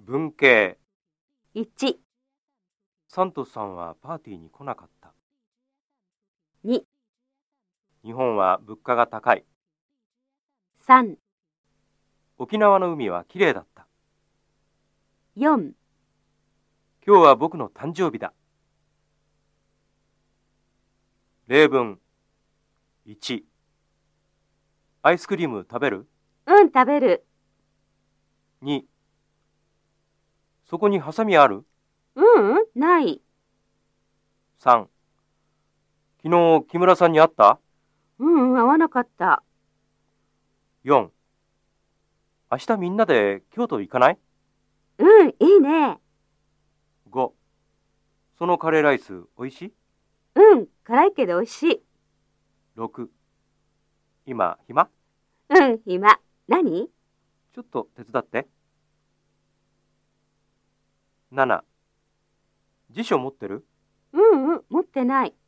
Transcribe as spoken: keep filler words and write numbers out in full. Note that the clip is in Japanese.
文系。 いち、 サントスさんはパーティーに来なかった。 に、 日本は物価が高い。 さん、 沖縄の海はきれいだった。 よん、 今日は僕の誕生日だ。例文。いち、アイスクリーム食べる？ うん、食べる。 に、そこにハサミある？ ううん、ない。 さん、昨日木村さんに会った？ ううん、合わなかった。 よん、明日みんなで京都行かない？ うん、いいね。 ご、そのカレーライスおいしい？ うん、辛いけど美味しい。 ろく、今暇？ うん、暇。何？ ちょっと手伝って。なな、辞書持ってる？ うんうん、持ってない。